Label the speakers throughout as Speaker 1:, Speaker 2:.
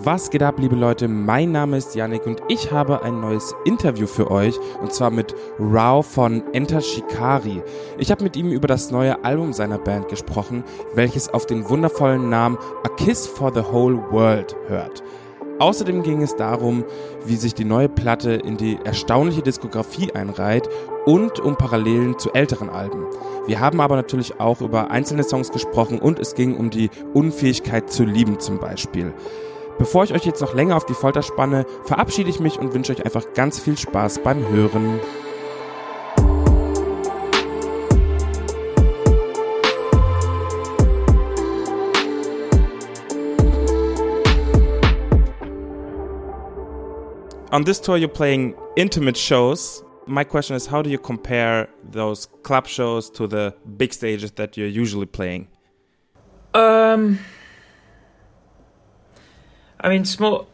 Speaker 1: Was geht ab, liebe Leute? Mein Name ist Yannick und ich habe ein neues Interview für euch, und zwar mit Rao von Enter Shikari. Ich habe mit ihm über das neue Album seiner Band gesprochen, welches auf den wundervollen Namen A Kiss for the Whole World hört. Außerdem ging es darum, wie sich die neue Platte in die erstaunliche Diskografie einreiht und um Parallelen zu älteren Alben. Wir haben aber natürlich auch über einzelne Songs gesprochen und es ging um die Unfähigkeit zu lieben zum Beispiel. Bevor ich euch jetzt noch länger auf die Folter spanne, verabschiede ich mich und wünsche euch einfach ganz viel Spaß beim Hören. On this tour, you're playing intimate shows. My question is, how do you compare those club shows to the big stages that you're usually playing?
Speaker 2: I mean, small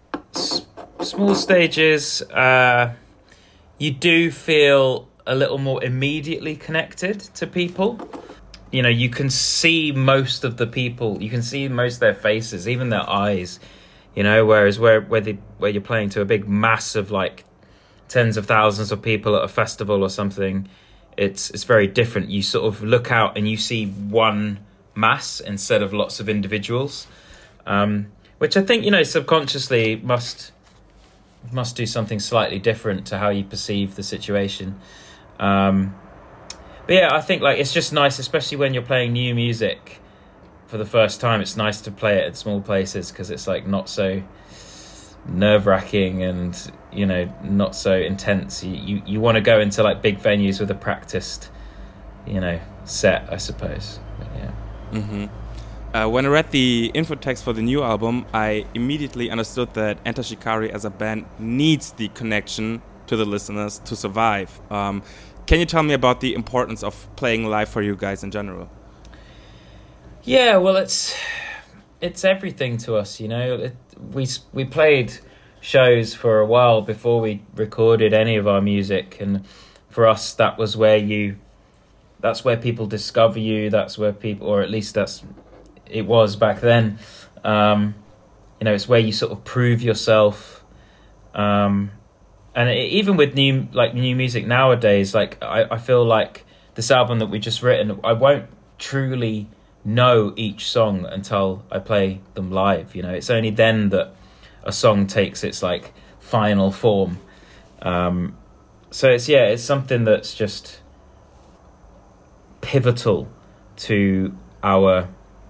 Speaker 2: stages, you do feel a little more immediately connected to people. You know, you can see most of the people, you can see most of their faces, even their eyes. You know, whereas where you're playing to a big mass of like tens of thousands of people at a festival or something, it's very different. You sort of look out and you see one mass instead of lots of individuals, which I think, you know, subconsciously must do something slightly different to how you perceive the situation. But yeah, I think like it's just nice, especially when you're playing new music for the first time. It's nice to play it at small places because it's like not so nerve-wracking and, you know, not so intense. You want to go into like big venues with a practiced, you know, set, I suppose. But, yeah.
Speaker 1: Mm-hmm. When I read the info text for the new album, I immediately understood that Enter Shikari as a band needs the connection to the listeners to survive. Can you tell me about the importance of playing live for you guys in general?
Speaker 2: Yeah, well, it's everything to us, you know. We played shows for a while before we recorded any of our music, and for us, that's where people discover you. That's where people, or at least it was back then. You know, it's where you sort of prove yourself. And even with new music nowadays, like I feel like this album that we just written, I won't truly know each song until I play them live. You know, it's only then that a song takes its like final form. So it's something that's just pivotal to our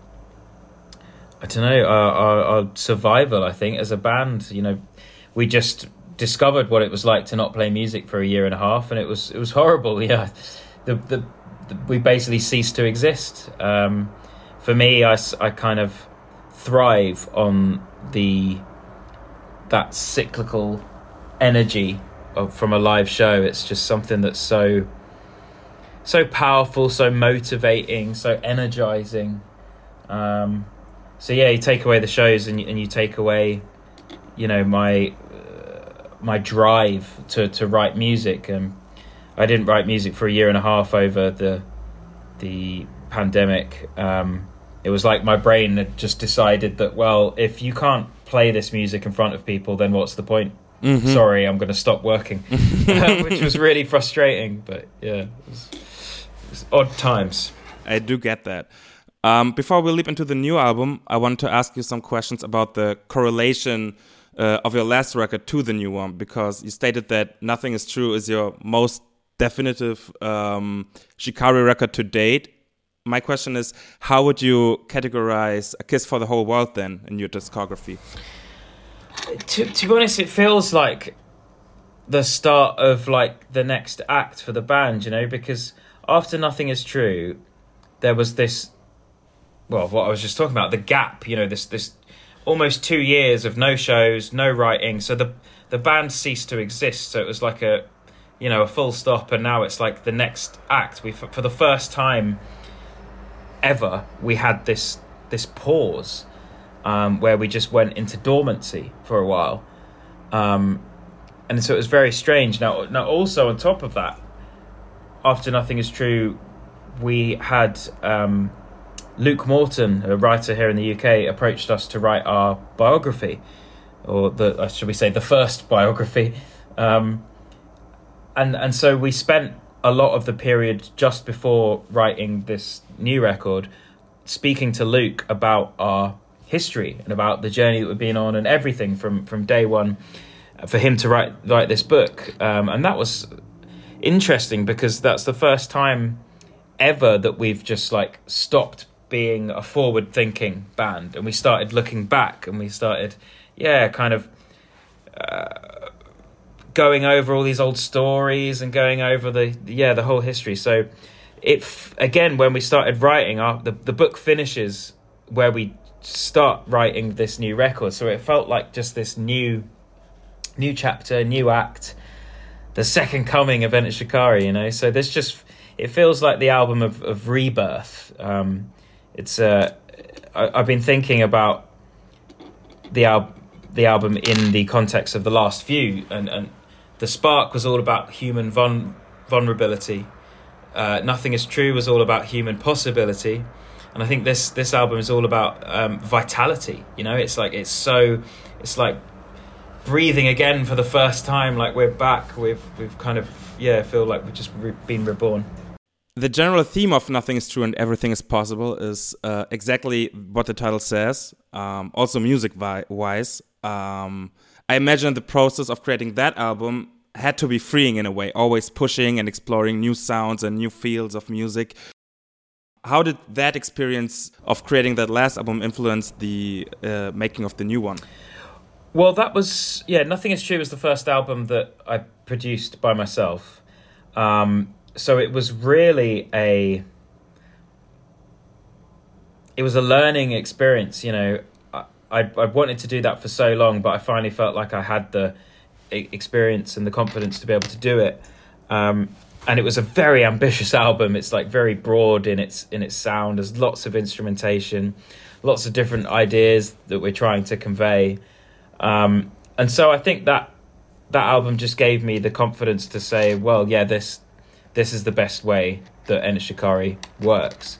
Speaker 2: survival, I think, as a band. You know, we just discovered what it was like to not play music for a year and a half, and it was horrible. Yeah, we basically ceased to exist. For me, I kind of thrive on that cyclical energy from a live show. It's just something that's so powerful, so motivating, so energizing. So yeah, you take away the shows and you take away, you know, my drive to write music. I didn't write music for a year and a half over the pandemic. It was like my brain had just decided that, well, if you can't play this music in front of people, then what's the point? Mm-hmm. Sorry, I'm going to stop working, which was really frustrating. But yeah, it was odd times.
Speaker 1: I do get that. Before we leap into the new album, I want to ask you some questions about the correlation of your last record to the new one, because you stated that Nothing Is True is your most definitive Shikari record to date. My question is, how would you categorize A Kiss for the Whole World then in your discography?
Speaker 2: To be honest, it feels like the start of like the next act for the band, you know, because after Nothing Is True, there was this, well, what I was just talking about, the gap, you know, this almost 2 years of no shows, no writing. So the band ceased to exist. So it was like a full stop, and now it's like the next act. For the first time ever, we had this pause where we just went into dormancy for a while, and so it was very strange. Now also on top of that, after Nothing Is True, we had Luke Morton, a writer here in the UK, approached us to write our biography, or should we say the first biography. And so we spent a lot of the period just before writing this new record speaking to Luke about our history and about the journey that we've been on and everything from day one for him to write this book. And that was interesting because that's the first time ever that we've just like stopped being a forward-thinking band and we started looking back and we started, kind of going over all these old stories and going over the whole history. So again, when we started writing, the book finishes where we start writing this new record. So it felt like just this new chapter, new act, the second coming of Enter Shikari, you know. So it feels like the album of rebirth. I've been thinking about the album in the context of the last few, and The Spark was all about human vulnerability. Nothing Is True was all about human possibility, and I think this album is all about vitality. You know, it's like breathing again for the first time. Like we're back. We've kind of feel like we've just been reborn.
Speaker 1: The general theme of Nothing Is True and Everything Is Possible is exactly what the title says. Also music-wise. I imagine the process of creating that album had to be freeing in a way, always pushing and exploring new sounds and new fields of music. How did that experience of creating that last album influence the making of the new one?
Speaker 2: Well, that was, Nothing Is True was the first album that I produced by myself. So it was really a learning experience, you know. I wanted to do that for so long, but I finally felt like I had the experience and the confidence to be able to do it. And it was a very ambitious album. It's like very broad in its sound. There's lots of instrumentation, lots of different ideas that we're trying to convey. And so I think that album just gave me the confidence to say, well, this is the best way that Enter Shikari works.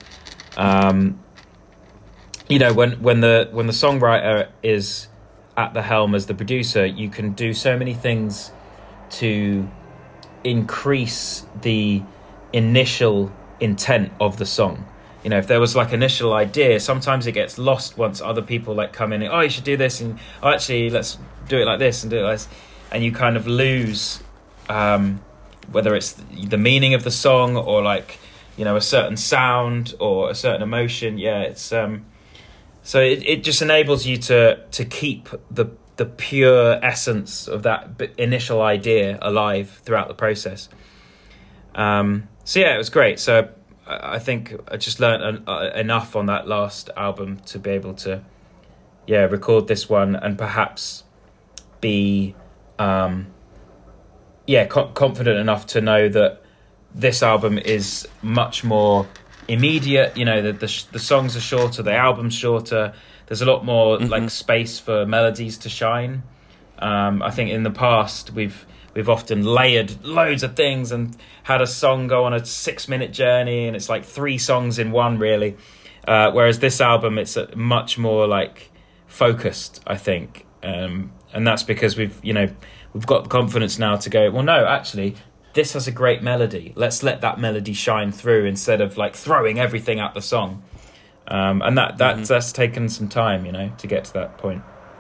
Speaker 2: You know, when the songwriter is at the helm as the producer, you can do so many things to increase the initial intent of the song. You know, if there was like initial idea, sometimes it gets lost once other people like come in and, oh, you should do this, and oh, actually let's do it like this and do it like this, and you kind of lose whether it's the meaning of the song or like, you know, a certain sound or a certain emotion. So it just enables you to keep the pure essence of that initial idea alive throughout the process. It was great. So I think I just learned enough on that last album to be able to record this one and perhaps be confident enough to know that this album is much more immediate. You know, the songs are shorter, the album's shorter. There's a lot more like space for melodies to shine. I think in the past we've often layered loads of things and had a song go on a 6-minute journey, and it's like 3 songs in one, really. Whereas this album, it's much more like focused, I think, and that's because we've got the confidence now to go, well, no, actually, this has a great melody. Let's let that melody shine through instead of like throwing everything at the song. And that's taken some time, you know, to get to that point.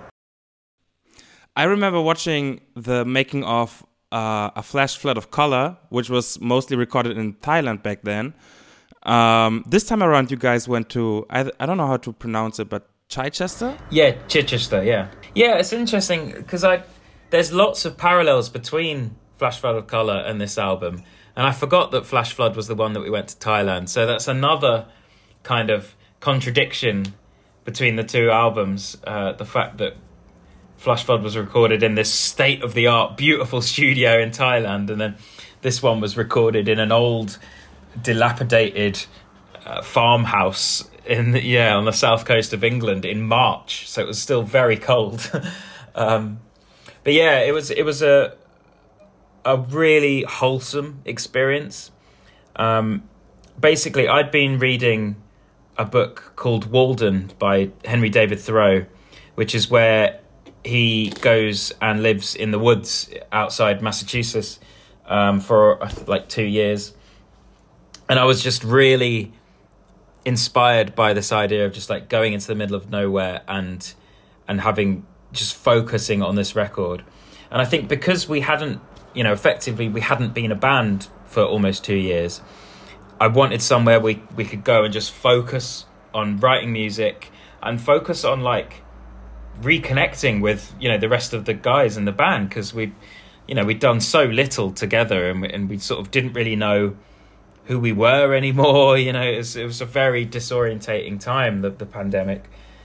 Speaker 1: I remember watching the making of A Flash Flood of Color, which was mostly recorded in Thailand back then. This time around, you guys went to, I don't know how to pronounce it, but Chichester?
Speaker 2: Yeah, Chichester, yeah. Yeah, it's interesting because there's lots of parallels between Flash Flood of Color and this album. And I forgot that Flash Flood was the one that we went to Thailand. So that's another kind of contradiction between the two albums. The fact that Flash Flood was recorded in this state-of-the-art, beautiful studio in Thailand, and then this one was recorded in an old, dilapidated farmhouse on the south coast of England in March. So it was still very cold. But yeah, it was a really wholesome experience. Basically, I'd been reading a book called Walden by Henry David Thoreau, which is where he goes and lives in the woods outside Massachusetts for like 2 years. And I was just really inspired by this idea of just like going into the middle of nowhere and having just focusing on this record. And I think because we hadn't, effectively we hadn't been a band for almost 2 years, I wanted somewhere we could go and just focus on writing music and focus on like reconnecting with, the rest of the guys in the band, because we'd done so little together and we sort of didn't really know who we were anymore. It was a very disorientating time, the pandemic.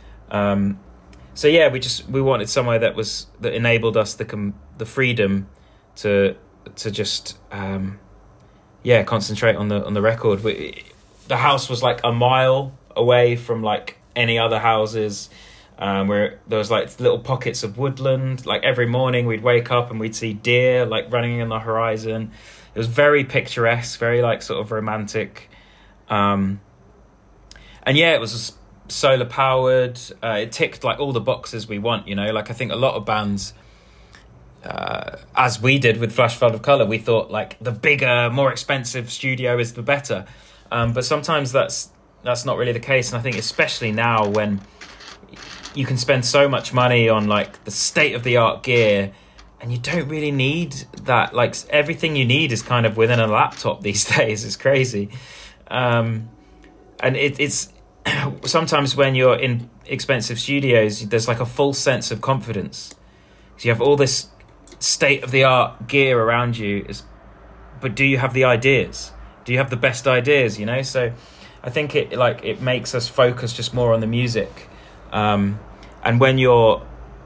Speaker 2: So yeah, we wanted somewhere that enabled us the freedom to just concentrate on the record. The house was like a mile away from like any other houses, where there was like little pockets of woodland. Like every morning we'd wake up and we'd see deer like running in the horizon. It was very picturesque, very like sort of romantic. And yeah, it was solar powered. It ticked like all the boxes we want, like I think a lot of bands, as we did with Flash Flood of Colour, we thought like the bigger, more expensive studio is the better. But sometimes that's not really the case. And I think especially now when you can spend so much money on like the state of the art gear, and you don't really need that. Like everything you need is kind of within a laptop these days. It's crazy. And it's sometimes when you're in expensive studios, there's like a false sense of confidence. So you have all this state of the art gear around you, but do you have the ideas? Do you have the best ideas? So I think it makes us focus just more on the music. And when you're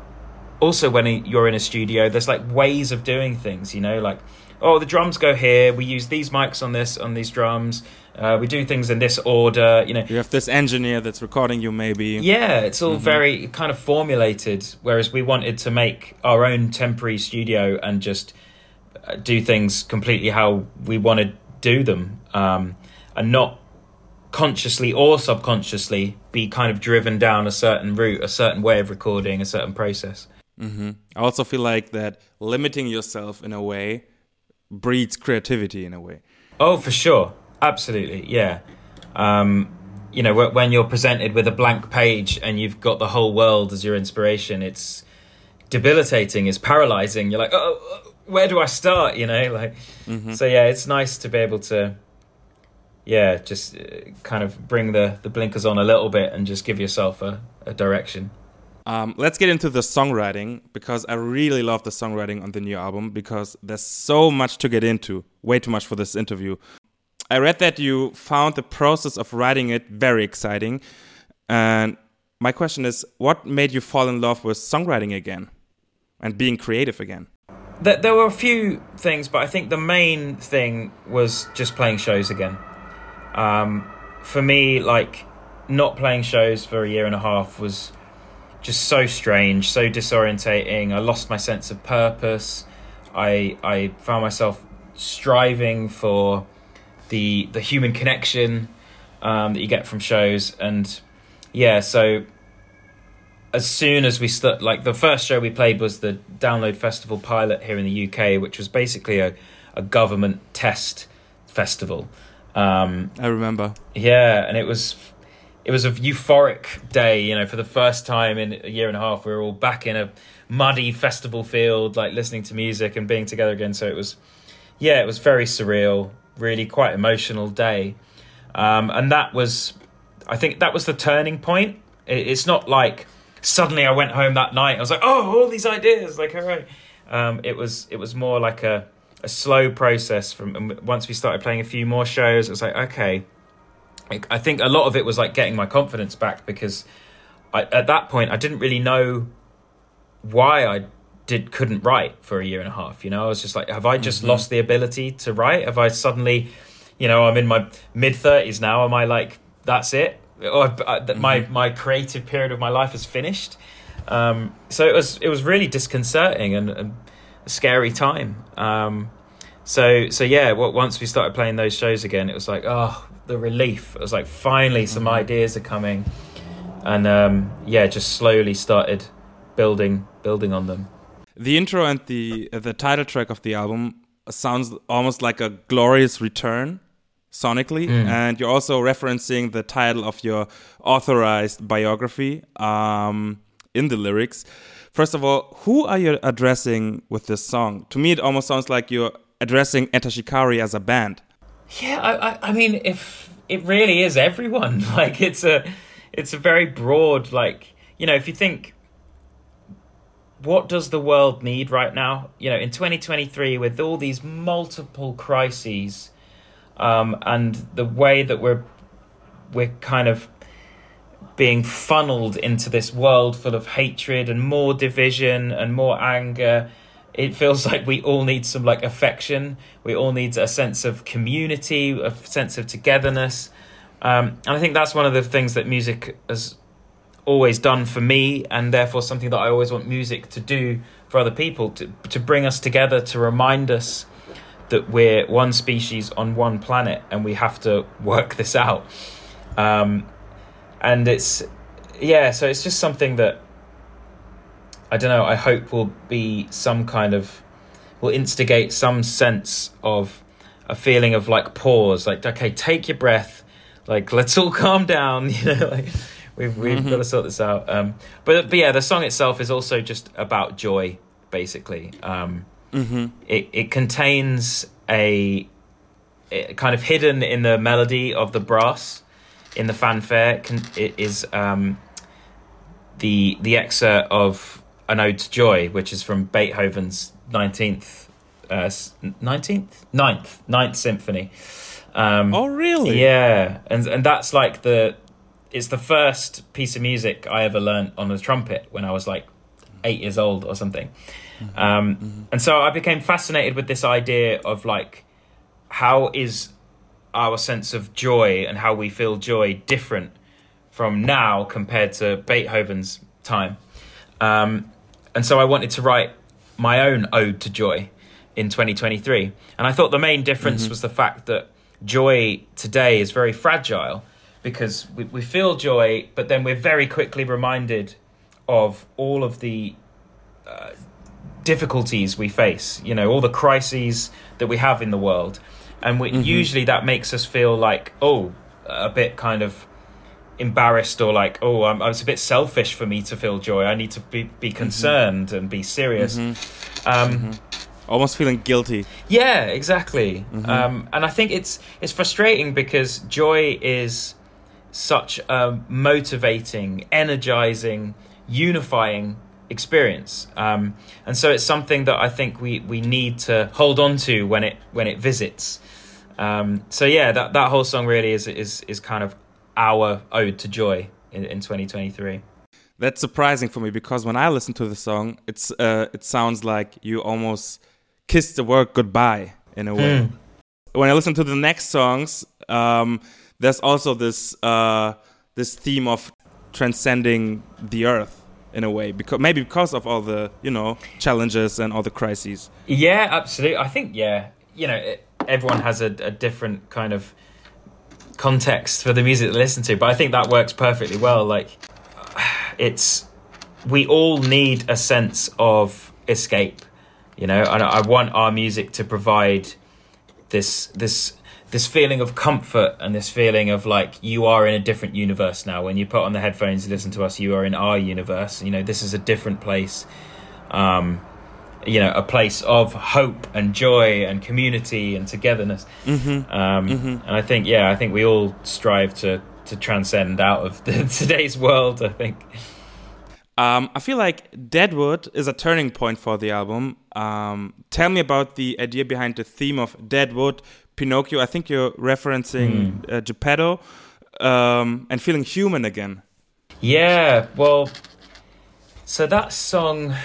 Speaker 2: in a studio, there's like ways of doing things, like, oh, the drums go here, we use these mics on these drums, we do things in this order,
Speaker 1: You have this engineer that's recording you maybe.
Speaker 2: Yeah, it's all very kind of formulated, whereas we wanted to make our own temporary studio and just do things completely how we want to do them, and not consciously or subconsciously be kind of driven down a certain route, a certain way of recording, a certain process.
Speaker 1: I also feel like that limiting yourself in a way breeds creativity in a way.
Speaker 2: Oh, for sure. Absolutely. Yeah. When you're presented with a blank page and you've got the whole world as your inspiration, it's debilitating, it's paralyzing. You're like, oh, where do I start? So yeah, it's nice to be able to, just kind of bring the blinkers on a little bit and just give yourself a direction.
Speaker 1: Let's get into the songwriting, because I really love the songwriting on the new album, because there's so much to get into, way too much for this interview. I read that you found the process of writing it very exciting. And my question is, what made you fall in love with songwriting again and being creative again?
Speaker 2: There were a few things, but I think the main thing was just playing shows again. For me, like, not playing shows for a year and a half was just so strange, so disorientating. I lost my sense of purpose. I found myself striving for the human connection that you get from shows. And yeah, so as soon as we start, like the first show we played was the Download Festival pilot here in the UK, which was basically a government test festival.
Speaker 1: I remember.
Speaker 2: Yeah, and it was a euphoric day, for the first time in a year and a half. We were all back in a muddy festival field, like listening to music and being together again. So it was very surreal, really quite emotional day. And I think that was the turning point. It's not like suddenly I went home that night, I was like, oh, all these ideas, like, all right. It was more like a slow process from once we started playing a few more shows. It was like, okay, I think a lot of it was like getting my confidence back, because at that point I didn't really know why I couldn't write for a year and a half. I was just like, have I just lost the ability to write? Have I suddenly, I'm in my mid-30s now. Am I like, that's it? Or my creative period of my life is finished? So it was really disconcerting and a scary time. so yeah, once we started playing those shows again, it was like, oh, the relief. It was like, finally some ideas are coming. And yeah, just slowly started building on them.
Speaker 1: The intro and the title track of the album sounds almost like a glorious return sonically, and you're also referencing the title of your authorized biography in the lyrics. First of all, who are you addressing with this song? To me, it almost sounds like you're addressing Enter Shikari as a band.
Speaker 2: Yeah, I mean, if it really is everyone. Like, it's a very broad, like, you know, if you think, what does the world need right now? You know, in 2023, with all these multiple crises, and the way that we're kind of being funneled into this world full of hatred and more division and more anger, it feels like we all need some, like, affection. We all need a sense of community, a sense of togetherness. And I think that's one of the things that music has always done for me, and therefore something that I always want music to do for other people, to bring us together, to remind us that we're one species on one planet and we have to work this out. And it's, yeah, so it's just something that, I don't know, I hope will be some kind of, will instigate some sense of a feeling of, like, pause, like, okay, take your breath, like, let's all calm down, you know, like, we've got to sort this out. But yeah, the song itself is also just about joy, basically. It contains it kind of hidden in the melody of the brass, in the fanfare, it is the excerpt of an ode to joy, which is from Beethoven's ninth symphony.
Speaker 1: Oh, really?
Speaker 2: Yeah, and that's like it's the first piece of music I ever learned on the trumpet when I was like 8 years old or something. And so I became fascinated with this idea of, like, how is our sense of joy and how we feel joy different from now compared to Beethoven's time. And so I wanted to write my own ode to joy in 2023. And I thought the main difference was the fact that joy today is very fragile, because we feel joy, but then we're very quickly reminded of all of the difficulties we face, you know, all the crises that we have in the world. And usually that makes us feel like, a bit kind of embarrassed, or like, it's a bit selfish for me to feel joy. I need to be concerned and be serious.
Speaker 1: Almost feeling guilty.
Speaker 2: Yeah, exactly. And I think it's frustrating, because joy is such a motivating, energizing, unifying experience. And so it's something that I think we need to hold on to when it visits. So yeah, that whole song really is kind of our ode to joy in 2023.
Speaker 1: That's surprising for me, because when I listen to the song, it sounds like you almost kissed the word goodbye in a way. When I listen to the next songs, there's also this theme of transcending the earth in a way, because of all the, you know, challenges and all the crises.
Speaker 2: Yeah, absolutely. I think, yeah, you know, everyone has a different kind of context for the music to listen to, but I think that works perfectly well. Like, we all need a sense of escape, you know, and I want our music to provide this feeling of comfort and this feeling of, like, you are in a different universe now. When you put on the headphones and listen to us, you are in our universe. You know, this is a different place, you know, a place of hope and joy and community and togetherness. And I think we all strive to transcend out of today's world, I think.
Speaker 1: I feel like Deadwood is a turning point for the album. Tell me about the idea behind the theme of Deadwood, Pinocchio. I think you're referencing Geppetto, and feeling human again.
Speaker 2: Yeah, well, so that song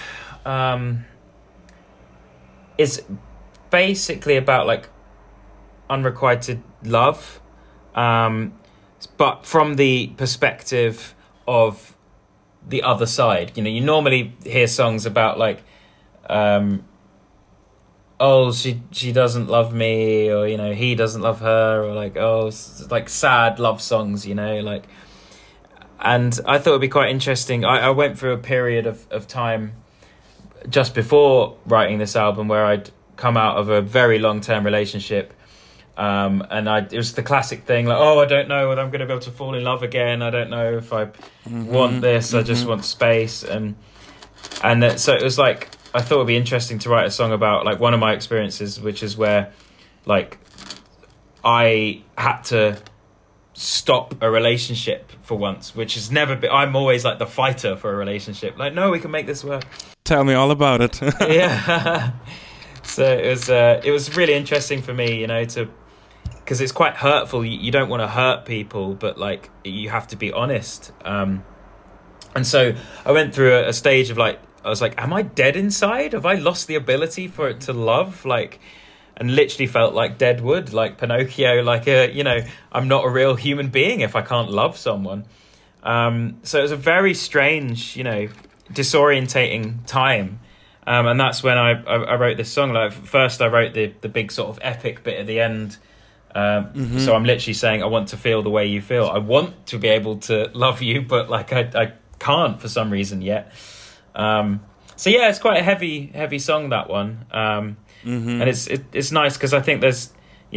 Speaker 2: is basically about, like, unrequited love, but from the perspective of the other side. You know, you normally hear songs about, like, oh, she doesn't love me, or, you know, he doesn't love her, or like, oh, like sad love songs, you know, like. And I thought it'd be quite interesting. I went through a period of time just before writing this album where I'd come out of a very long-term relationship, and it was the classic thing, like, oh, I don't know whether I'm going to be able to fall in love again. I don't know if I want this. I just want space, and so it was like, I thought it'd be interesting to write a song about like one of my experiences, which is where like I had to stop a relationship for once, which has never been. I'm always like the fighter for a relationship. Like, no, we can make this work.
Speaker 1: Tell me all about it.
Speaker 2: Yeah. So it was really interesting for me, you know, because it's quite hurtful. You don't want to hurt people, but like you have to be honest. And so I went through a stage of like, I was like, am I dead inside? Have I lost the ability for it to love? Like, and literally felt like dead wood, like Pinocchio, like you know, I'm not a real human being if I can't love someone. So it was a very strange, you know, disorientating time. And that's when I wrote this song. Like, first I wrote the big sort of epic bit at the end. So I'm literally saying, I want to feel the way you feel. I want to be able to love you, but like I can't for some reason yet. So yeah, it's quite a heavy song, that one. And it's nice because I think there's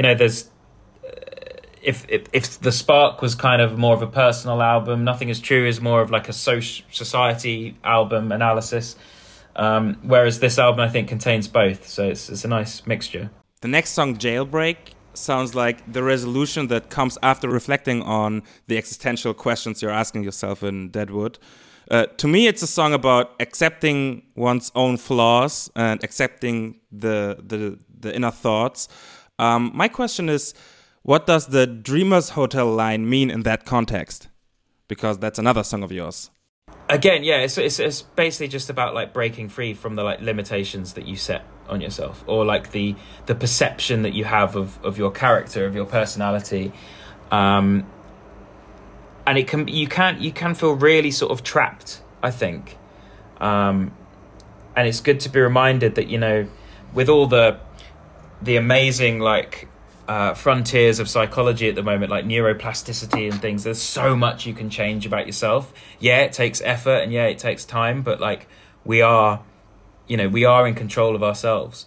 Speaker 2: if the Spark was kind of more of a personal album, Nothing Is True is more of like a society album analysis, whereas this album I think contains both, so it's a nice mixture.
Speaker 1: The next song, Jailbreak, sounds like the resolution that comes after reflecting on the existential questions you're asking yourself in Deadwood. To me, it's a song about accepting one's own flaws and accepting the inner thoughts. My question is, what does the Dreamers Hotel line mean in that context? Because that's another song of yours.
Speaker 2: Again, yeah, it's basically just about like breaking free from the like limitations that you set on yourself, or like the perception that you have of your character, of your personality. And you can feel really sort of trapped, I think. And it's good to be reminded that, you know, with all the amazing like frontiers of psychology at the moment, like neuroplasticity and things, there's so much you can change about yourself. Yeah, it takes effort and yeah, it takes time, but like we are in control of ourselves.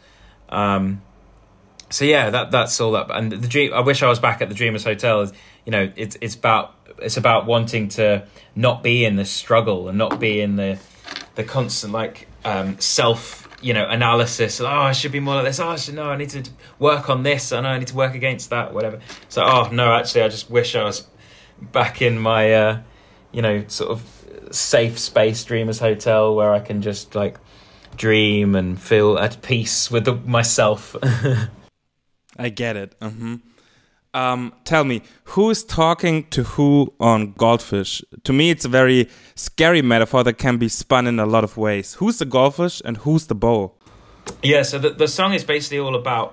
Speaker 2: So yeah, that's all that. And the dream, I wish I was back at the Dreamers Hotel. Is, you know, it's about wanting to not be in the struggle and not be in the constant like self, you know, analysis. Oh, I should be more like this. Oh, I need to work on this. I know I need to work against that, whatever. So, oh no, actually, I just wish I was back in my, you know, sort of safe space Dreamers Hotel where I can just like dream and feel at peace with myself.
Speaker 1: I get it. Tell me, who is talking to who on Goldfish? To me, it's a very scary metaphor that can be spun in a lot of ways. Who's the goldfish and who's the bowl?
Speaker 2: Yeah, so the song is basically all about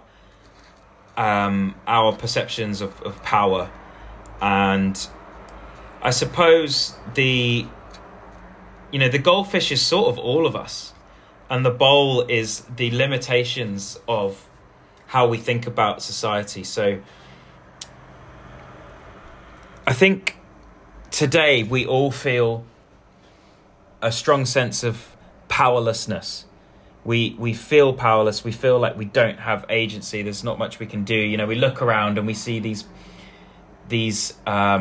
Speaker 2: our perceptions of power. And I suppose the goldfish is sort of all of us. And the bowl is the limitations of how we think about society. So I think today we all feel a strong sense of powerlessness. We feel powerless. We feel like we don't have agency. There's not much we can do. You know, we look around and we see these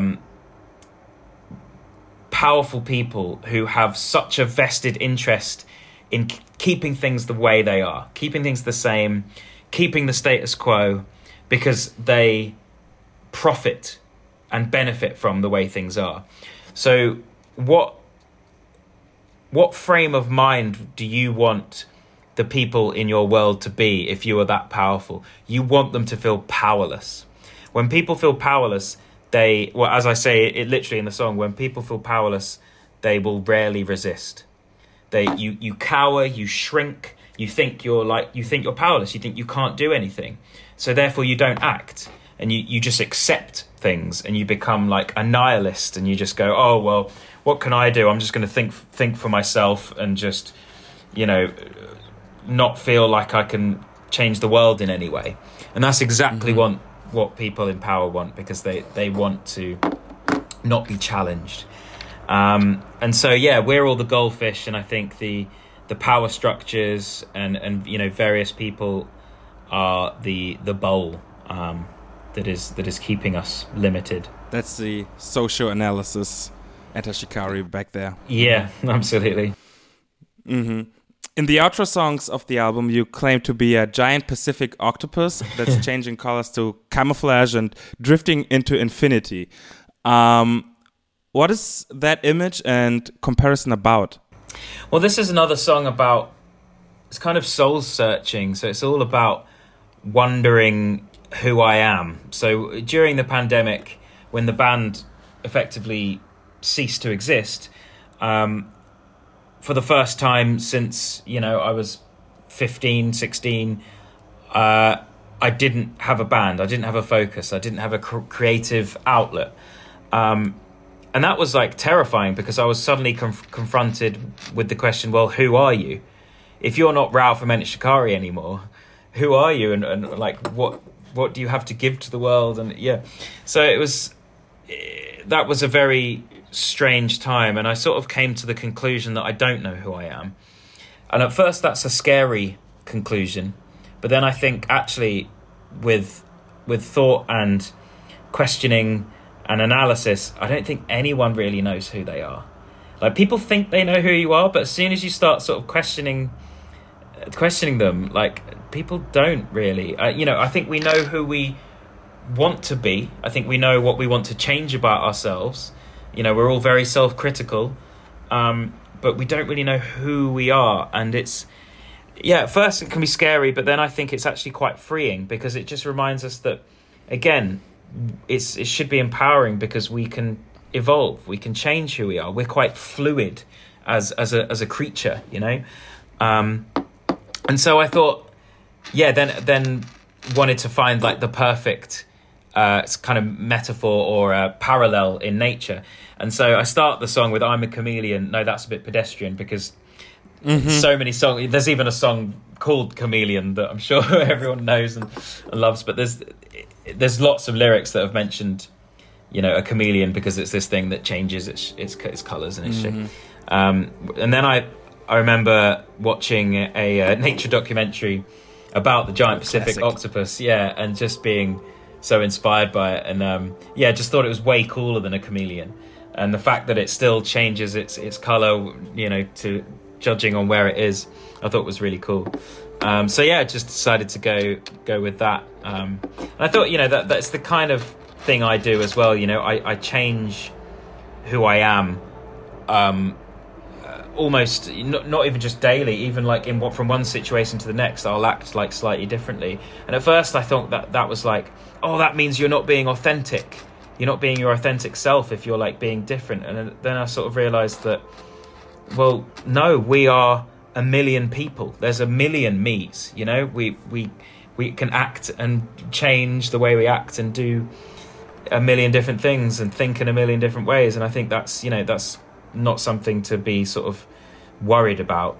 Speaker 2: powerful people who have such a vested interest in keeping things the way they are, keeping things the same, keeping the status quo, because they profit and benefit from the way things are. So what frame of mind do you want the people in your world to be if you are that powerful? You want them to feel powerless. When people feel powerless, as I say it literally in the song, when people feel powerless, they will rarely resist. You cower, you shrink, you think you're powerless, you think you can't do anything. So therefore you don't act. And you just accept things, and you become like a nihilist, and you just go, oh well, what can I do? I'm just going to think for myself, and just, you know, not feel like I can change the world in any way. And that's exactly what people in power want, because they want to not be challenged. And so, yeah, we're all the goldfish, and I think the power structures and various people are the bowl that is keeping us limited.
Speaker 1: That's the social analysis, Enter Shikari back there.
Speaker 2: Yeah, absolutely.
Speaker 1: In the outro songs of the album, you claim to be a giant Pacific octopus that's changing colors to camouflage and drifting into infinity. What is that image and comparison about?
Speaker 2: Well, this is another song about, it's kind of soul searching. So it's all about wondering who I am. So during the pandemic, when the band effectively ceased to exist, for the first time since, I was 15, 16, I didn't have a band. I didn't have a focus. I didn't have a creative outlet. And that was like terrifying, because I was suddenly confronted with the question, well, who are you? If you're not Rao from Enter Shikari anymore, who are you? And like, what do you have to give to the world? And so that was a very strange time. And I sort of came to the conclusion that I don't know who I am. And at first that's a scary conclusion. But then I think actually with thought and questioning and analysis, I don't think anyone really knows who they are. Like, people think they know who you are, but as soon as you start sort of questioning them, like, people don't really. I think we know who we want to be. I think we know what we want to change about ourselves. We're all very self-critical, but we don't really know who we are. And it's, at first it can be scary, but then I think it's actually quite freeing, because it just reminds us that, again, it should be empowering, because we can evolve, we can change who we are. We're quite fluid as a creature, and so I thought, then wanted to find like the perfect kind of metaphor or a parallel in nature. And so I start the song with "I'm a chameleon." No, that's a bit pedestrian, because so many songs. There's even a song called "Chameleon" that I'm sure everyone knows and loves, but there's lots of lyrics that have mentioned, a chameleon, because it's this thing that changes its colours and its shape. And then I remember watching a nature documentary about the giant Pacific octopus, and just being so inspired by it, and just thought it was way cooler than a chameleon. And the fact that it still changes its colour, to judging on where it is, I thought was really cool. I just decided to go with that. And I thought, that's the kind of thing I do as well. I change who I am, almost not even just daily, even like from one situation to the next, I'll act like slightly differently. And at first I thought that was like, oh, that means you're not being authentic. You're not being your authentic self if you're like being different. And then I sort of realized that, well, no, we are a million people. There's a million me's, we can act and change the way we act and do a million different things and think in a million different ways. And I think that's, that's not something to be sort of worried about.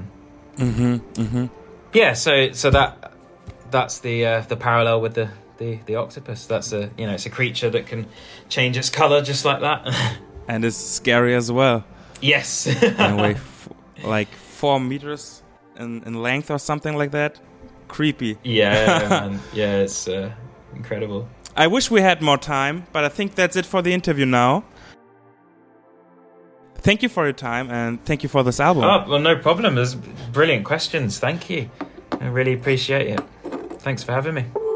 Speaker 2: So that's the parallel with the octopus. That's it's a creature that can change its color just like that.
Speaker 1: And it's scary as well.
Speaker 2: Yes.
Speaker 1: Anyway, like 4 meters in length or something like that. Creepy.
Speaker 2: Yeah, man. Yeah, it's incredible.
Speaker 1: I wish we had more time, but I think that's it for the interview now. Thank you for your time, and thank you for this album.
Speaker 2: Oh, well, no problem. There's brilliant questions. Thank you. I really appreciate it. Thanks for having me.